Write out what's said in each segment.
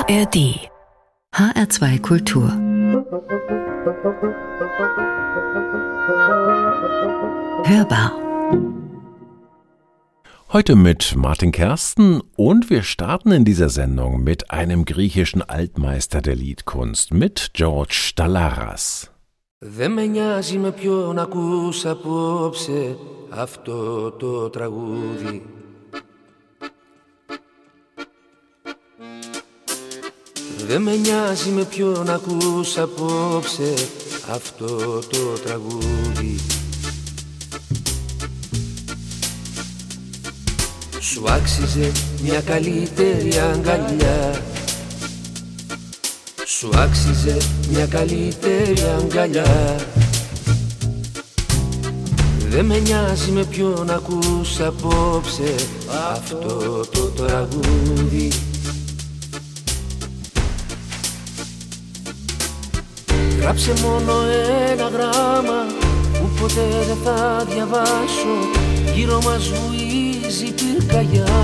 ARD HR2 Kultur. Hörbar. Heute mit Martin Kersten und wir starten in dieser Sendung mit einem griechischen Altmeister der Liedkunst, mit George Dalaras. Δεν με νοιάζει με ποιον ακούς απόψε αυτό το τραγούδι. Δεν με νοιάζει με ποιον ακούς απόψε αυτό το τραγούδι. Σου άξιζε μια καλύτερη αγκαλιά. Σου άξιζε μια καλύτερη αγκαλιά. Δεν με νοιάζει με ποιον ακούς απόψε αυτό το τραγούδι. Γράψε μόνο ένα γράμμα που ποτέ δεν θα διαβάσω. Γύρω μας βουίζει πυρκαγιά.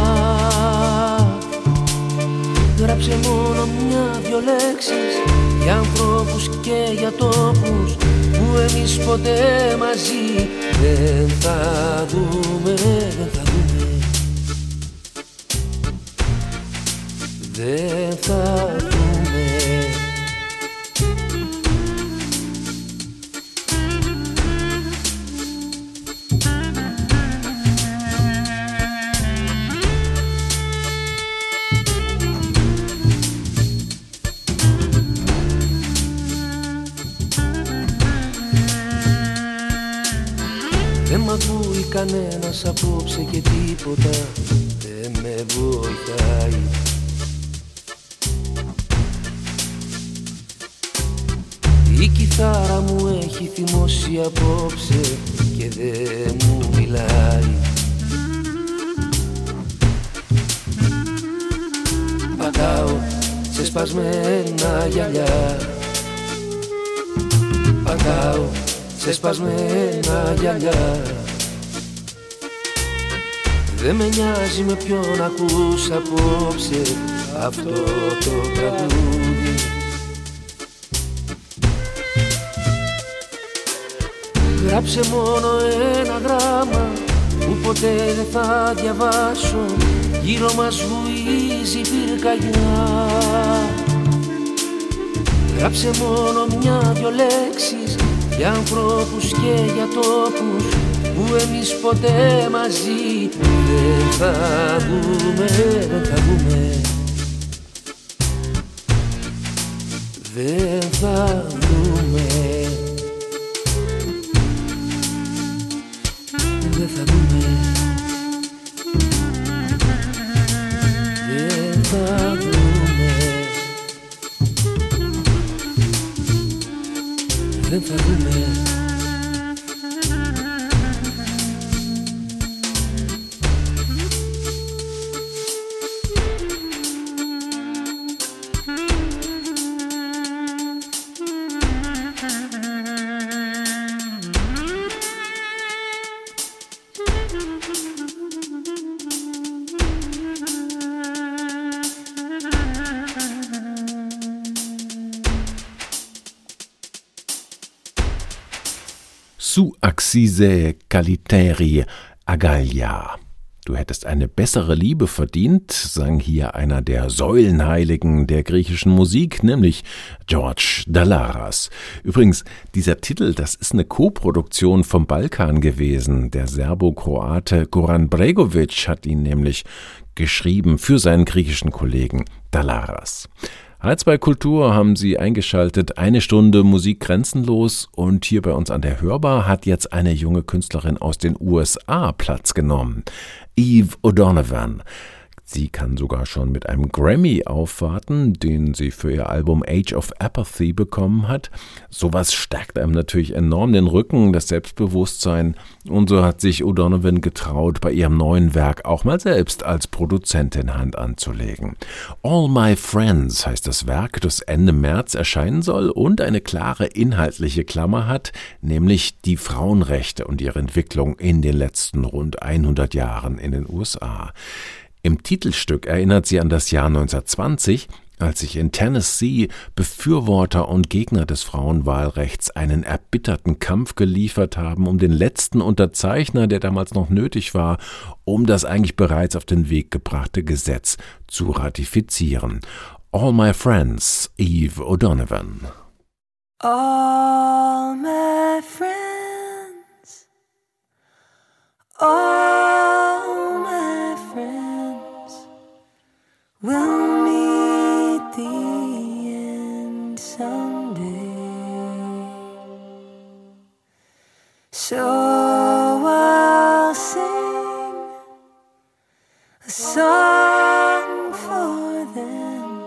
Γράψε μόνο μια-δυο λέξεις για ανθρώπους και για τόπους που εμείς ποτέ μαζί δεν θα δούμε, δεν θα δούμε. Δεν θα δούμε. Δεν μ' ακούει κανένας απόψε και τίποτα δεν με βοηθάει. Η κιθάρα μου έχει θυμώσει απόψε και δεν μου μιλάει. Πατάω σε σπασμένα γυαλιά. Πατάω σε σπασμένα γυαλιά. Δεν με νοιάζει με ποιον ακούς απόψε αυτό το τραγούδι. Γράψε μόνο ένα γράμμα που ποτέ δεν θα διαβάσω. Γύρω μας βουίζει πυρκαγιά. Γράψε μόνο μια-δυο λέξεις για ανθρώπους και για τόπους που εμείς ποτέ μαζί δεν θα δούμε, δεν θα δούμε. Δεν θα δούμε. Δεν θα δούμε. Δεν θα δούμε. Δεν θα δούμε. Su axise kaliteri agalia. Du hättest eine bessere Liebe verdient, sang hier einer der Säulenheiligen der griechischen Musik, nämlich George Dalaras. Übrigens, dieser Titel, das ist eine Koproduktion vom Balkan gewesen. Der Serbo-Kroate Goran Bregović hat ihn nämlich geschrieben für seinen griechischen Kollegen Dalaras. HR2 Kultur haben Sie eingeschaltet, 1 Stunde Musik grenzenlos, und hier bei uns an der Hörbar hat jetzt eine junge Künstlerin aus den USA Platz genommen, Eve O'Donovan. Sie kann sogar schon mit einem Grammy aufwarten, den sie für ihr Album Age of Apathy bekommen hat. Sowas stärkt einem natürlich enorm den Rücken, das Selbstbewusstsein. Und so hat sich O'Donovan getraut, bei ihrem neuen Werk auch mal selbst als Produzentin Hand anzulegen. All My Friends heißt das Werk, das Ende März erscheinen soll und eine klare inhaltliche Klammer hat, nämlich die Frauenrechte und ihre Entwicklung in den letzten rund 100 Jahren in den USA. Im Titelstück erinnert sie an das Jahr 1920, Als sich in Tennessee Befürworter und Gegner des Frauenwahlrechts einen erbitterten Kampf geliefert haben, um den letzten Unterzeichner, der damals noch nötig war, um das eigentlich bereits auf den Weg gebrachte Gesetz zu ratifizieren. All My Friends, Eve O'Donovan. All my friends, all my friends will meet the end someday. So I'll sing a song for them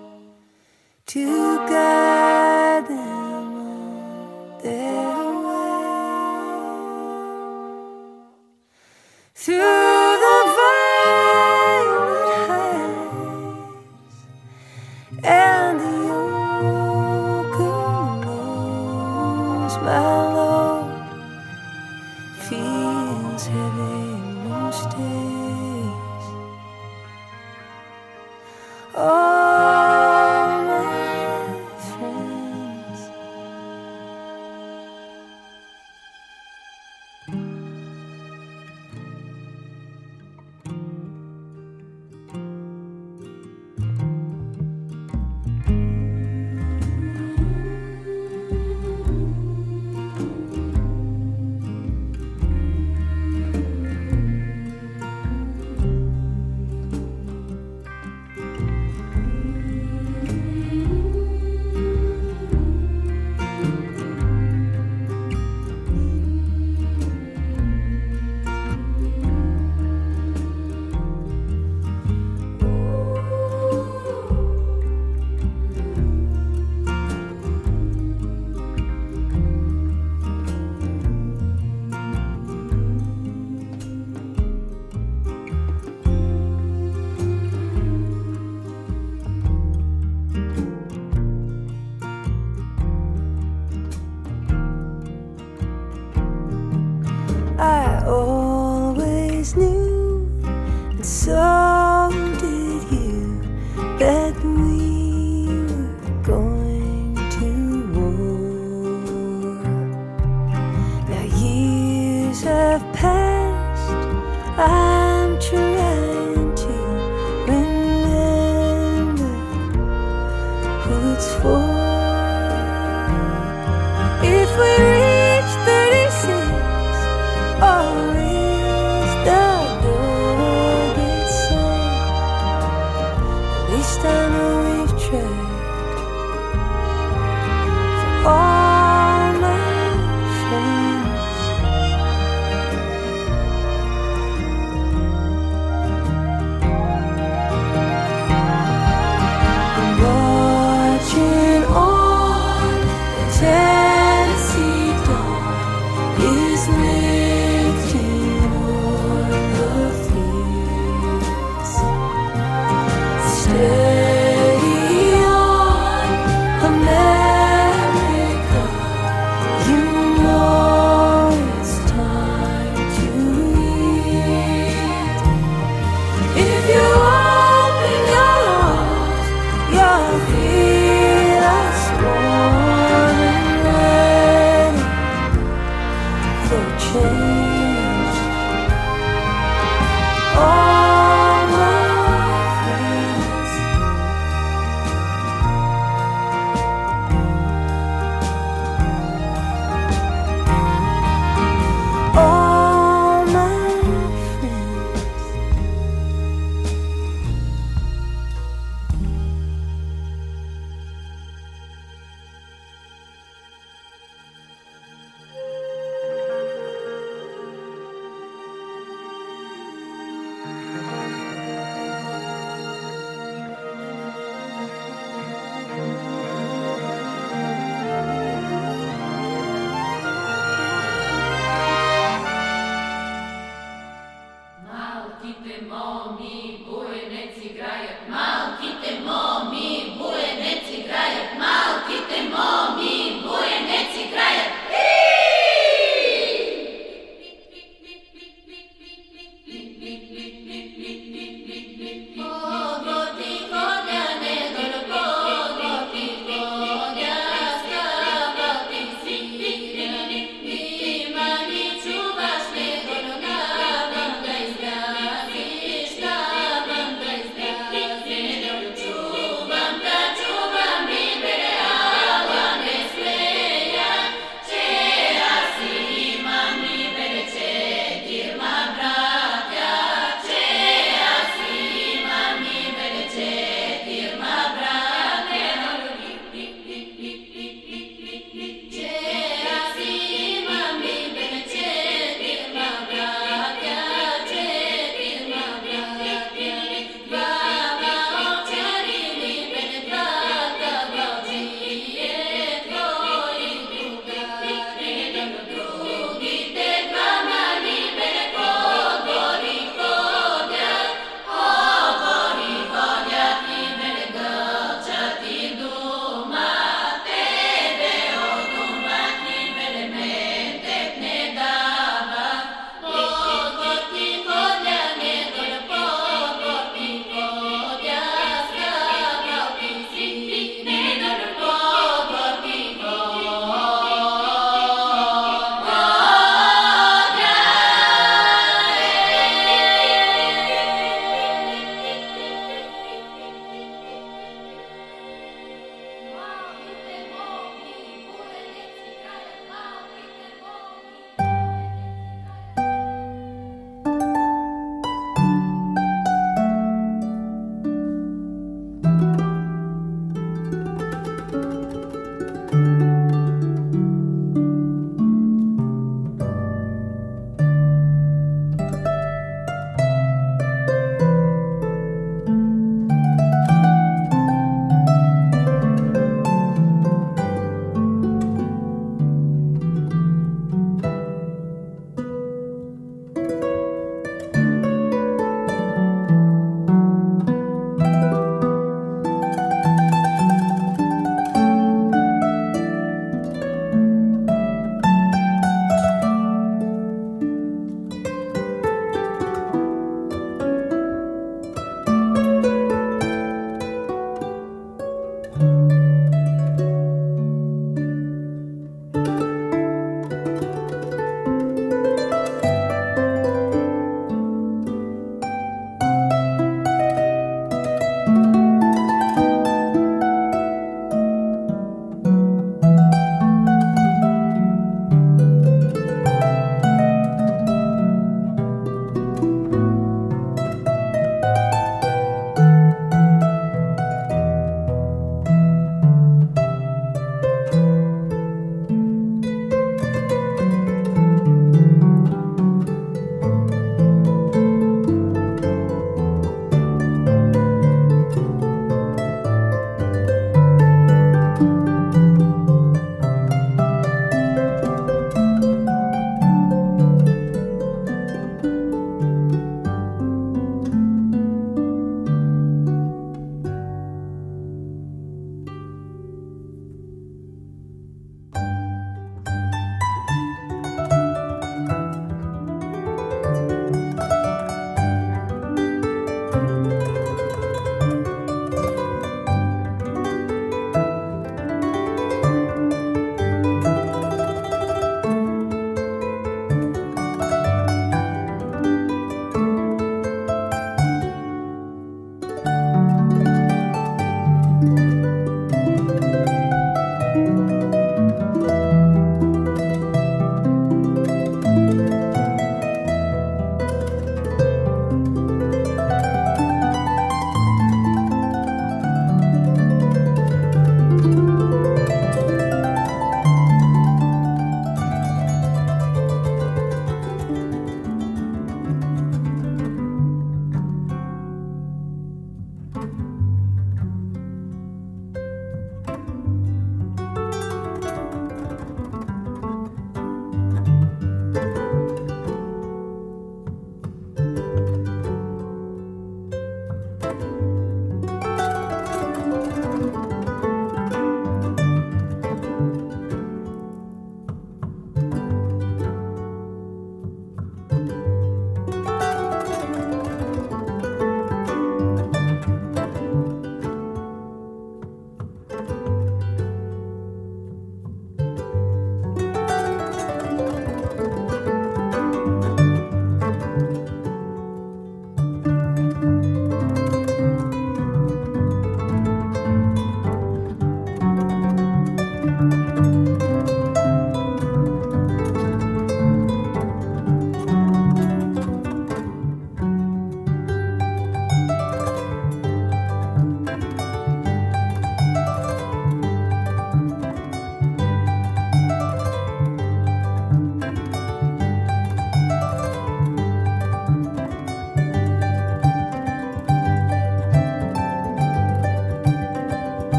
to guide them on their way through the violet heights and the oak groves. My load feels heavy most days. All my friends. I always knew, and so did you, that we were going to war. Now years have passed, I'm trying to remember who it's for. If we reach 36, or is the door gets slammed, at least I know we've tried. For all my friends, I'm watching on the Tennessee dawn is lifting o'er the fields. Steady on, America, you know it's time to lead. If you open your arms, you'll feel us warm and ready for change. All my friends, all my friends.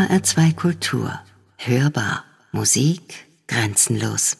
HR2 Kultur. Hörbar. Musik grenzenlos.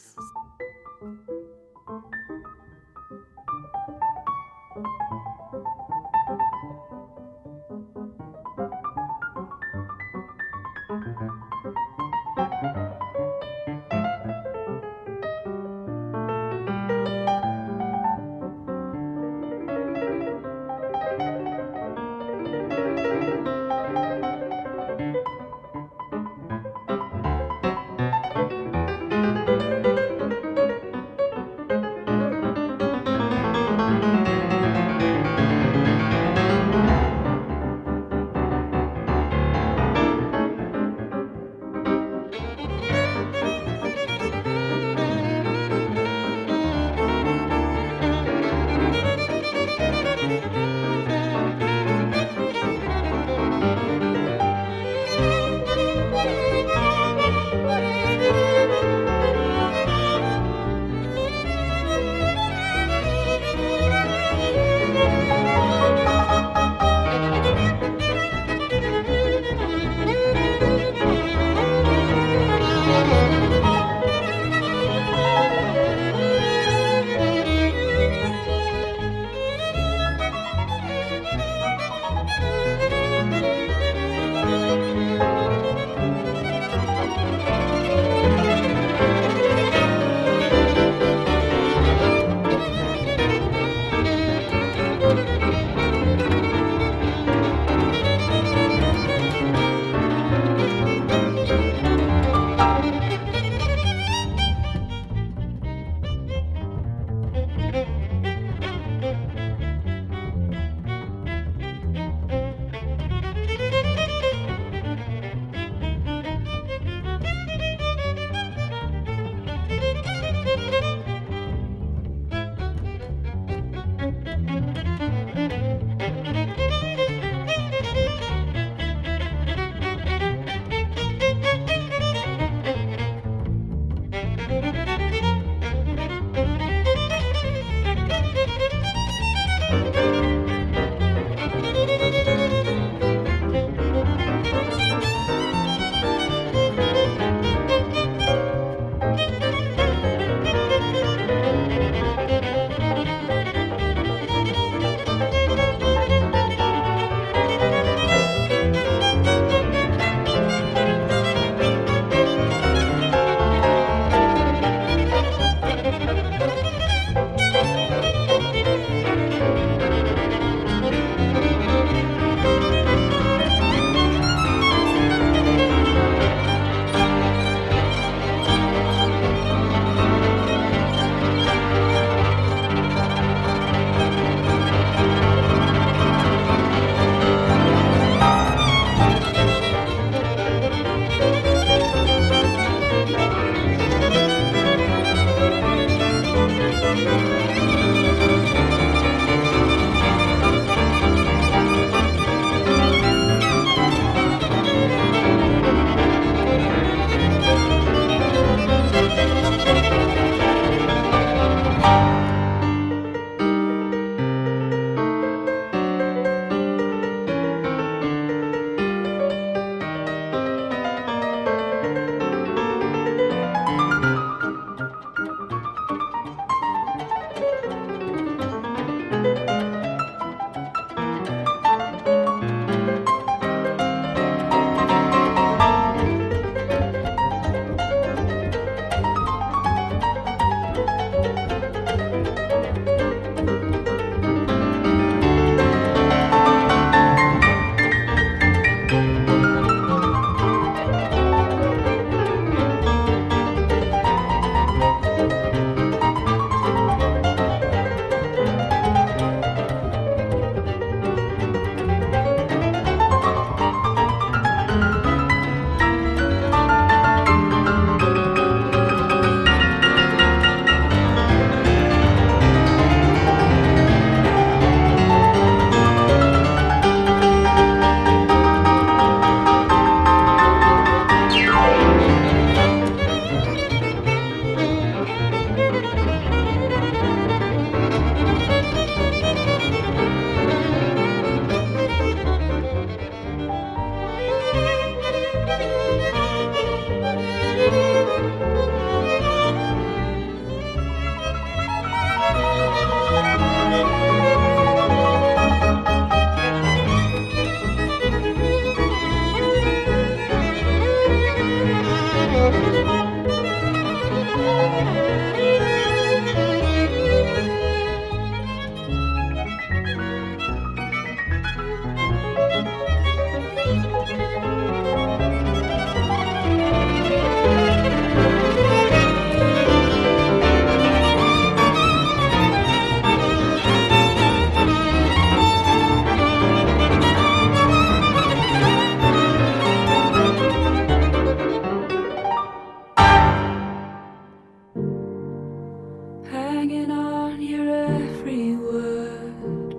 hanging on your every word.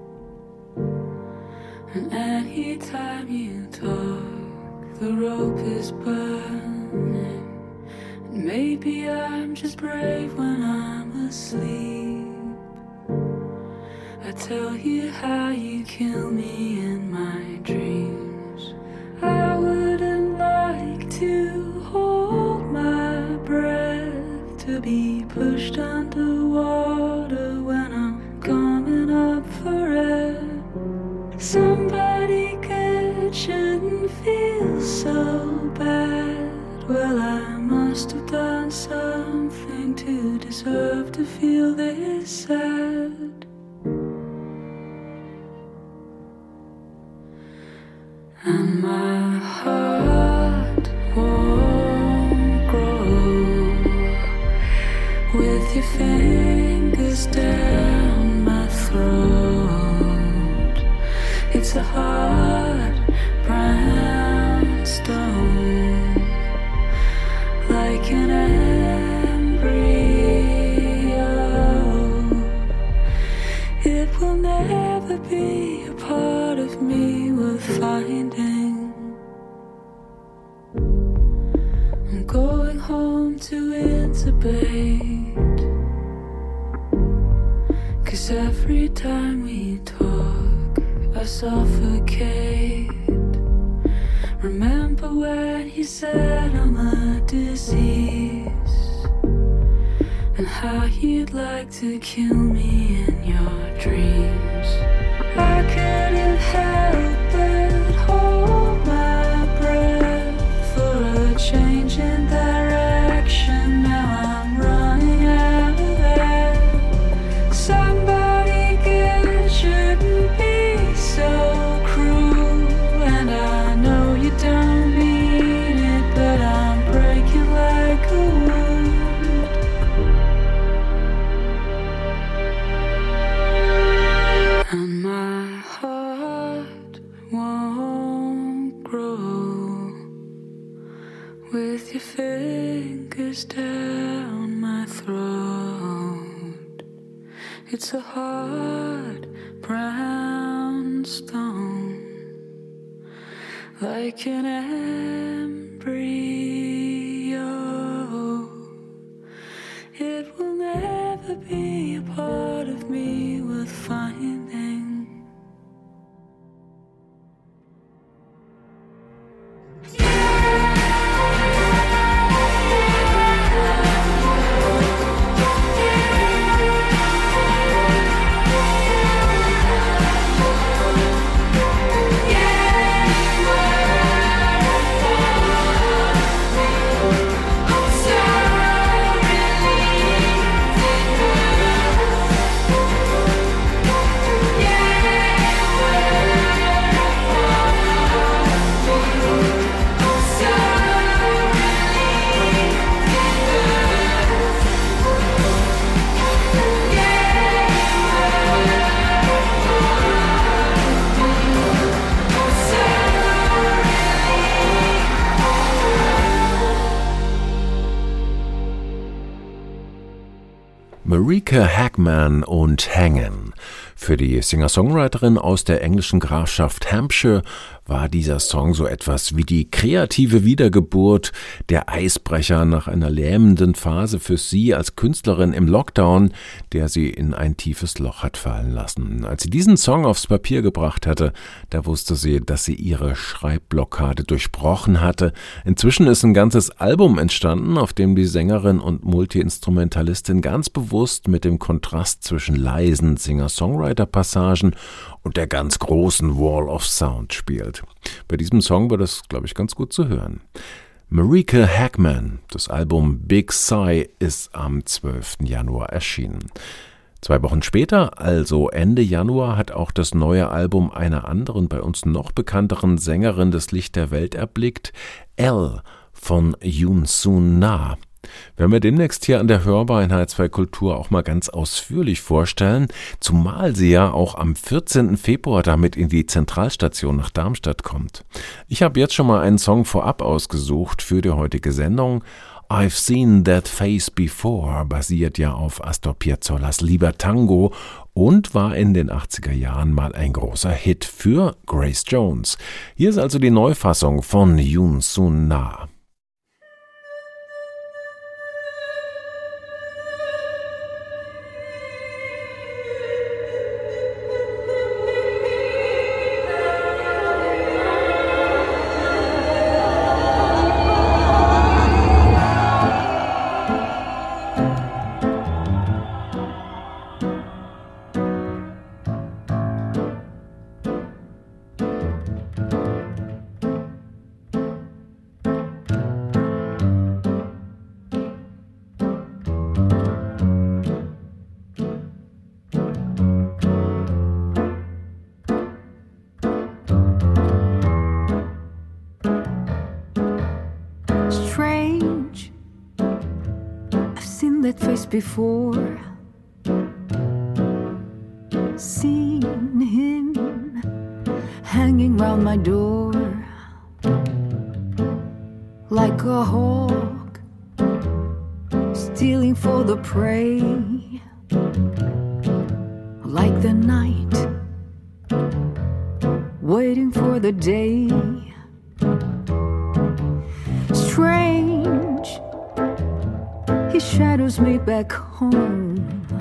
And anytime you talk, the rope is burning. And maybe I'm just brave when I'm asleep. I tell you how you kill me in my dreams. I wouldn't like to hold my breath, to be pushed underwater when I'm coming up for air. Somebody good shouldn't feel so bad. Well, I must have done something to deserve to feel this sad. And my heart won't grow with your fingers down my throat. It's a hard brown stone, like an embryo. It will never be a part of me worth finding. I'm going home to intubate, 'cause every time we talk I suffocate. Remember when you said I'm a disease, and how you'd like to kill me in your dreams. I couldn't help but hold my breath for a change in direction. Now I'm running out of air. Somebody good shouldn't be so cruel, and I know you don't mean it, but I'm breaking like a wound. And my heart won't grow with your fingers down my throat. It's a hard brown stone, like an embryo. It will never be a part of me worth finding. Marika Hackman und Hängen. Für die Singer-Songwriterin aus der englischen Grafschaft Hampshire war dieser Song so etwas wie die kreative Wiedergeburt, der Eisbrecher nach einer lähmenden Phase für sie als Künstlerin im Lockdown, der sie in ein tiefes Loch hat fallen lassen. Als sie diesen Song aufs Papier gebracht hatte, da wusste sie, dass sie ihre Schreibblockade durchbrochen hatte. Inzwischen ist ein ganzes Album entstanden, auf dem die Sängerin und Multi-Instrumentalistin ganz bewusst mit dem Kontrast zwischen leisen Singer-Songwriter-Passagen und der ganz großen Wall of Sound spielt. Bei diesem Song war das, glaube ich, ganz gut zu hören. Marika Hackman, das Album Big Sigh, ist am 12. Januar erschienen. 2 Wochen später, also Ende Januar, hat auch das neue Album einer anderen, bei uns noch bekannteren Sängerin das Licht der Welt erblickt, Elle von Yoon Sun Na. Werden wir demnächst hier an der Hörbar in H2 Kultur auch mal ganz ausführlich vorstellen, zumal sie ja auch am 14. Februar damit in die Zentralstation nach Darmstadt kommt. Ich habe jetzt schon mal einen Song vorab ausgesucht für die heutige Sendung. I've Seen That Face Before basiert ja auf Astor Piazzolla's Lieber Tango und war in den 80er Jahren mal ein großer Hit für Grace Jones. Hier ist also die Neufassung von Yoon Sun Na. Before seen him hanging round my door like a hawk stealing for the prey, like the night waiting for the day. Strange, his shadows me back home.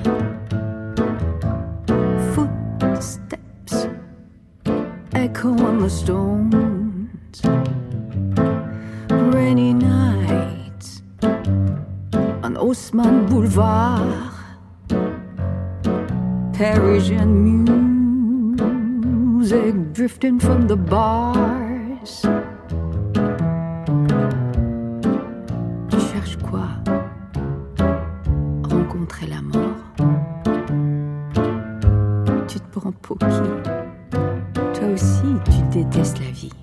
Footsteps echo on the stones. Rainy nights on Haussmann Boulevard. Parisian music drifting from the bars. Tu cherches quoi? Rencontrer la mort. Tu te prends pour qui? Toi aussi, tu détestes la vie.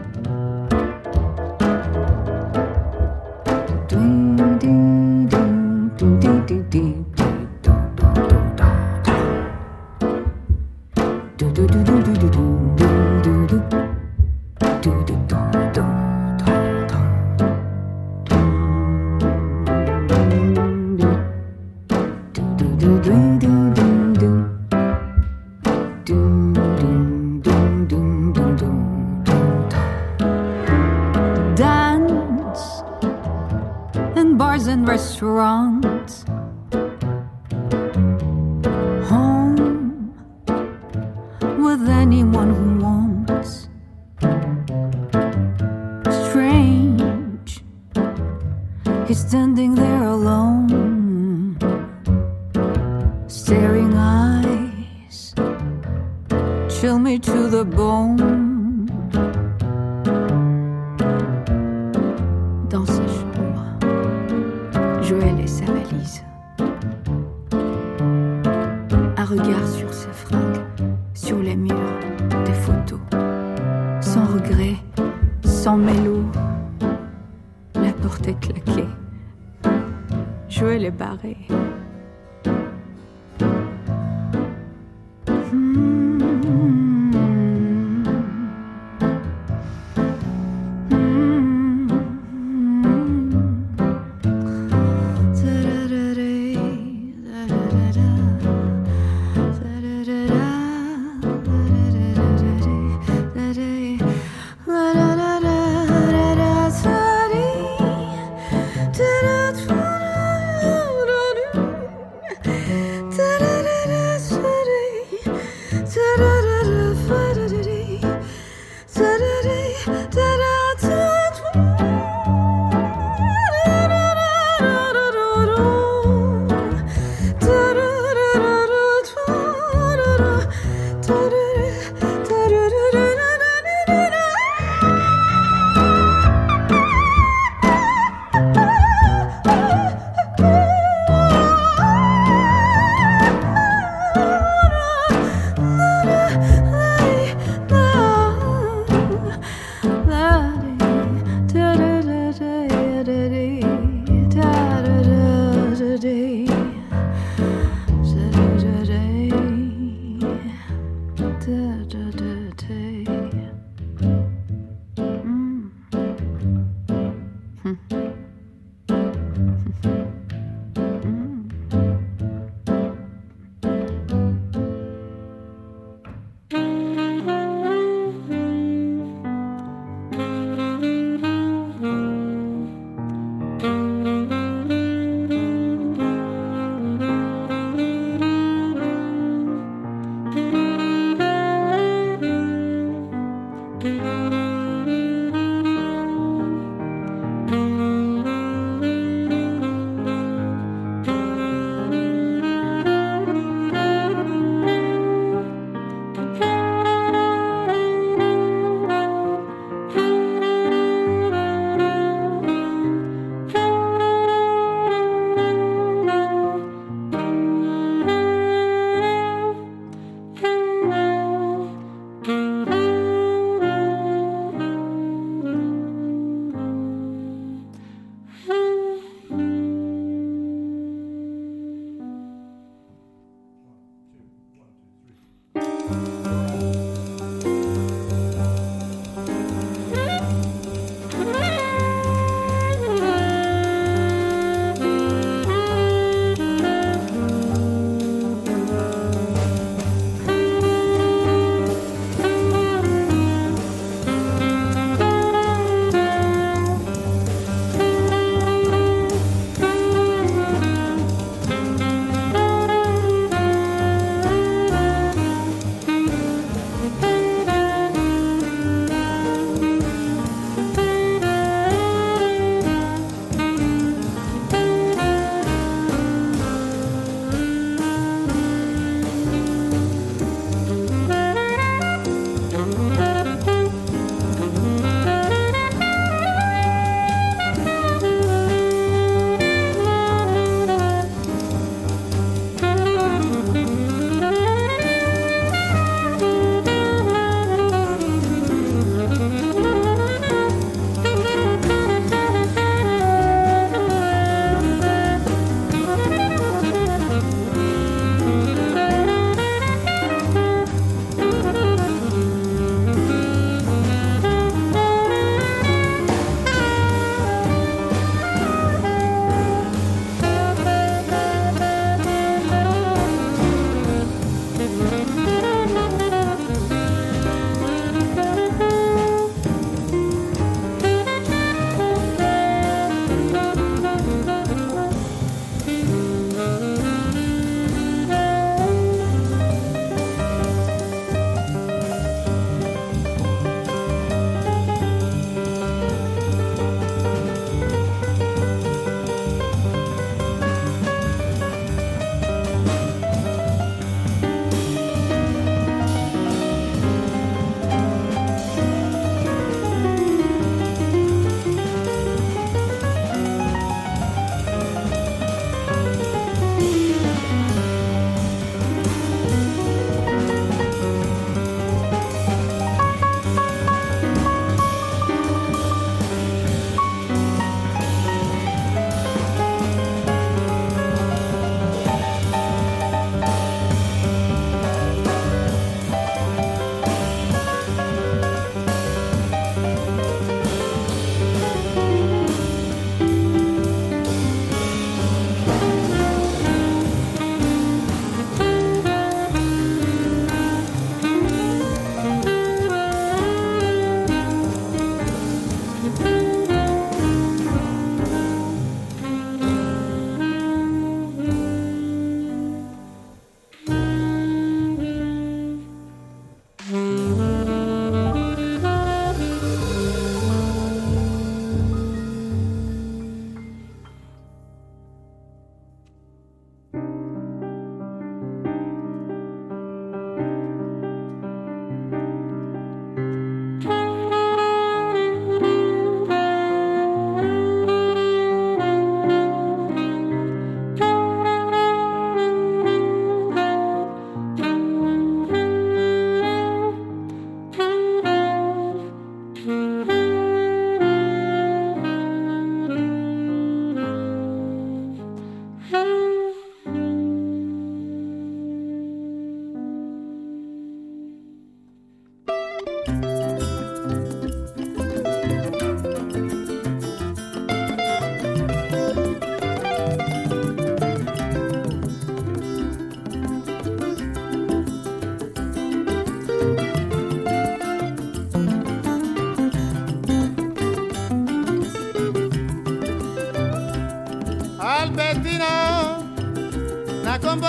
Dance in bars and restaurants. Home with anyone who wants. Strange, he's standing there alone. Staring eyes chill me to the bone. Dans sa chambre, Joël et sa valise. Un regard sur ses fringues, sur les murs, des photos. Sans regret, sans mélo, la porte est claquée. Joël est barré.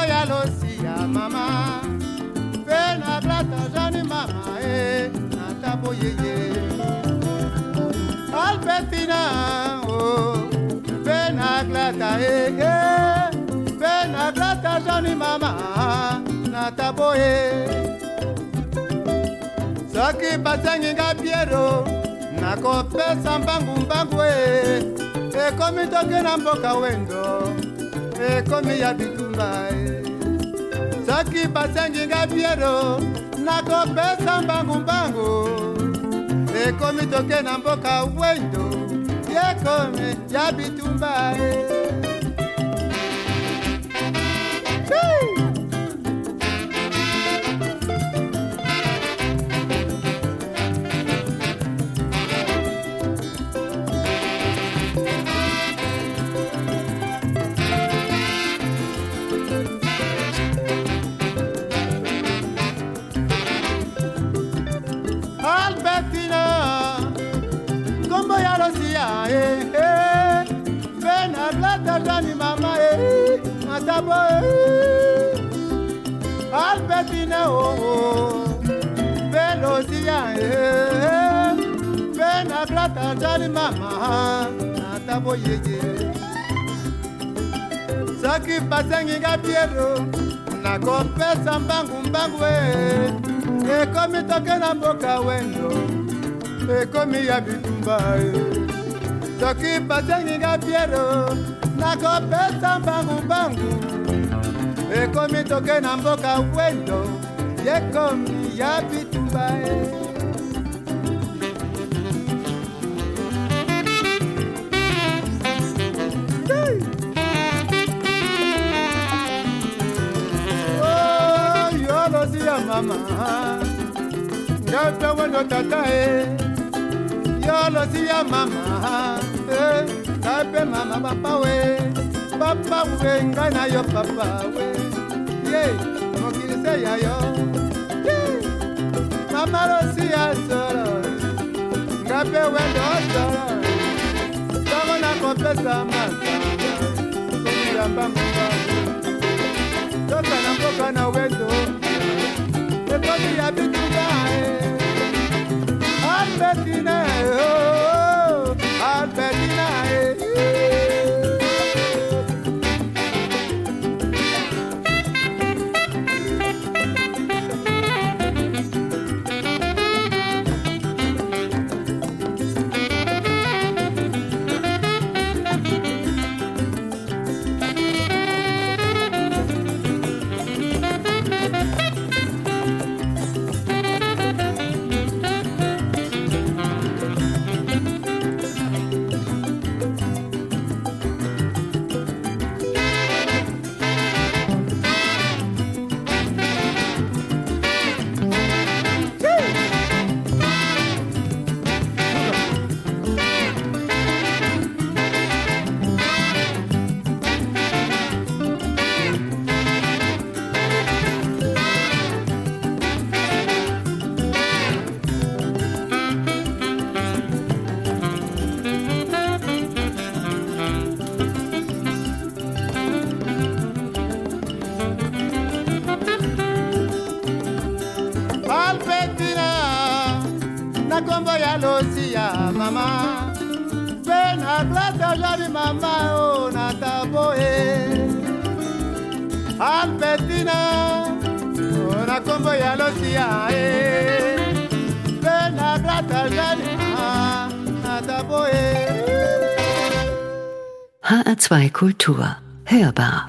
ya losia mama pena plata jani mama natabo yeye Albertina oh pena plata pena plata jani mama natabo Saki basangi nga Piero nakopesa mbangu ekomi toke na mboka wendo ekomi ya bitumba Saki basangi nga Piero nakopesa mbangu ekomi toke na mboka wendo ekomi ya bitumba Albertina, kombo ya losia Bena blata jani mama matabo Albertina Velosia Bena blata jani mama matabo yeye Saki basengi nga Piero nakopesa mbangu ekomi toke na mboka wendo ekomi ya bitumba Soki basengi nga Piero nakopesa mbangu ekomi toke na mboka wendo ekomi ya bitumba Mama, ngape wendo tata yolo siya mama ngape mama papa we ngana yo papa we mokilise ya yo mama lo siya solo ngape wendo solo sama na kopesa masa ya mbamba toka na mboka na wendo Ekomi ya bitumba Albertina Albertina Kombo ya losia mama Bena plata jani mama natabo Albertina na kombo ya losia Bena plata jani mama natabo HR2 Kultur hörbar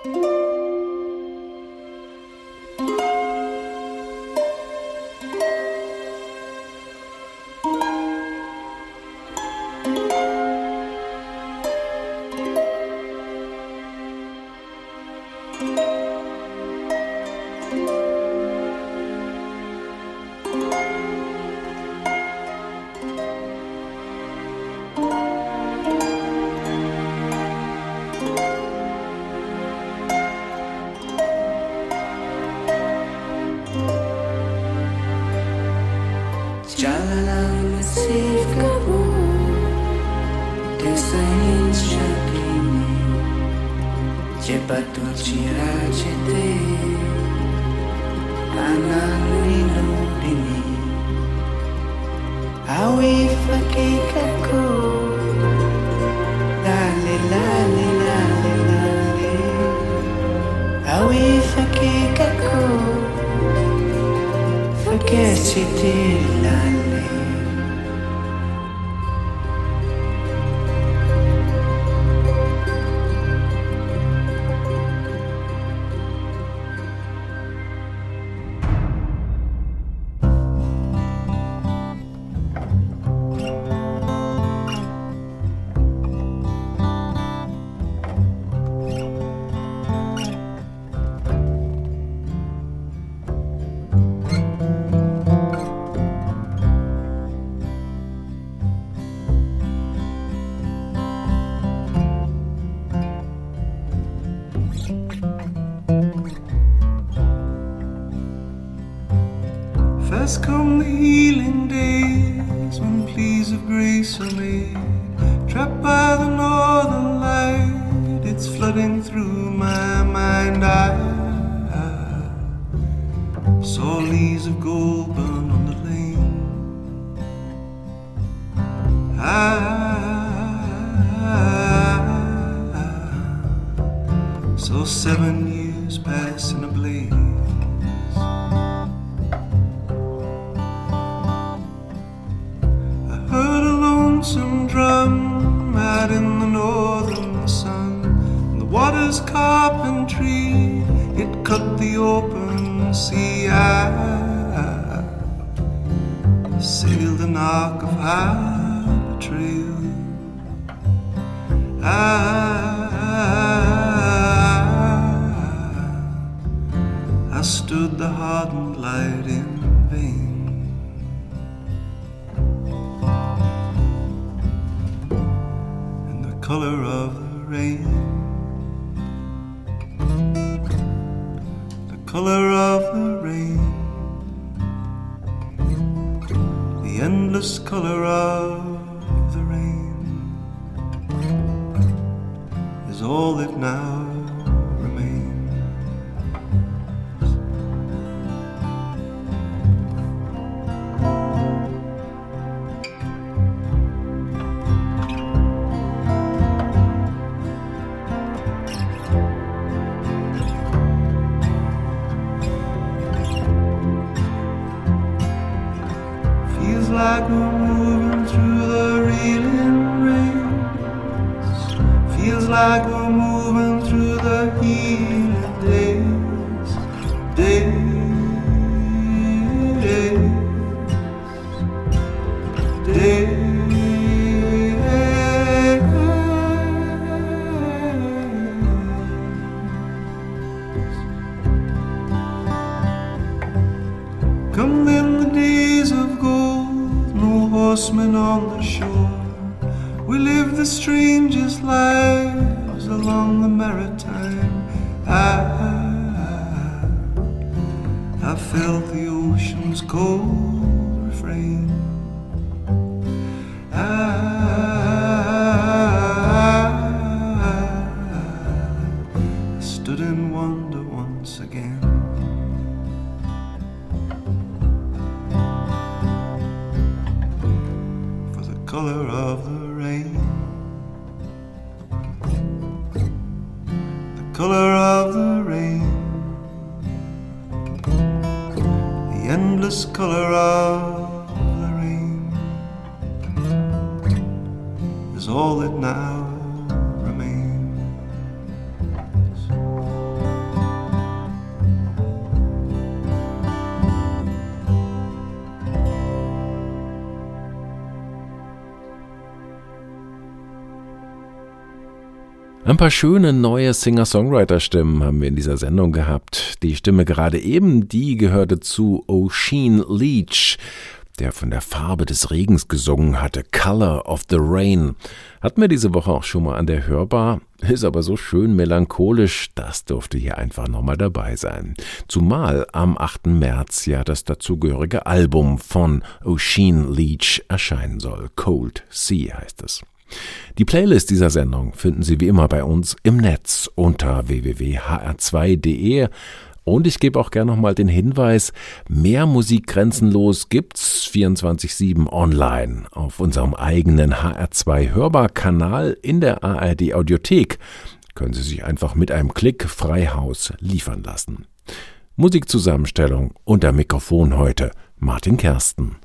Fast come the healing days when pleas of grace are made. Trapped by the northern light, it's flooding through my mind. I saw leaves of gold burn on the lane. I saw 7 years pass in a blaze. Lonesome drum out in the northern sun, and the water's carpentry, it cut the open sea. I sailed an arc of high betrayal. I stood the hardened light in vain. Color of the rain, the color of the rain, the endless color of the rain is all that now remains. Like we're moving through the reeling rains. Feels like we're moving through the healing days. Come then the days of gold, horsemen on the shore. We live the strangest lives along the maritime. I felt the ocean's cold refrain. I stood in wonder once again. Color of the rain, the color of the rain, the endless color of the rain is all that now remains. Ein paar schöne neue Singer-Songwriter-Stimmen haben wir in dieser Sendung gehabt. Die Stimme gerade eben, die gehörte zu Oisin Leach, der von der Farbe des Regens gesungen hatte, Color of the Rain. Hatten wir diese Woche auch schon mal an der Hörbar, ist aber so schön melancholisch, das durfte hier einfach nochmal dabei sein. Zumal am 8. März ja das dazugehörige Album von Oisin Leach erscheinen soll. Cold Sea heißt es. Die Playlist dieser Sendung finden Sie wie immer bei uns im Netz unter www.hr2.de. Und ich gebe auch gerne nochmal den Hinweis, mehr Musik grenzenlos gibt's 24/7 online auf unserem eigenen HR2 Hörbar-Kanal in der ARD Audiothek. Können Sie sich einfach mit einem Klick frei Haus liefern lassen. Musikzusammenstellung unter Mikrofon heute Martin Kersten.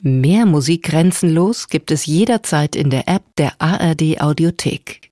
Mehr Musik grenzenlos gibt es jederzeit in der App der ARD Audiothek.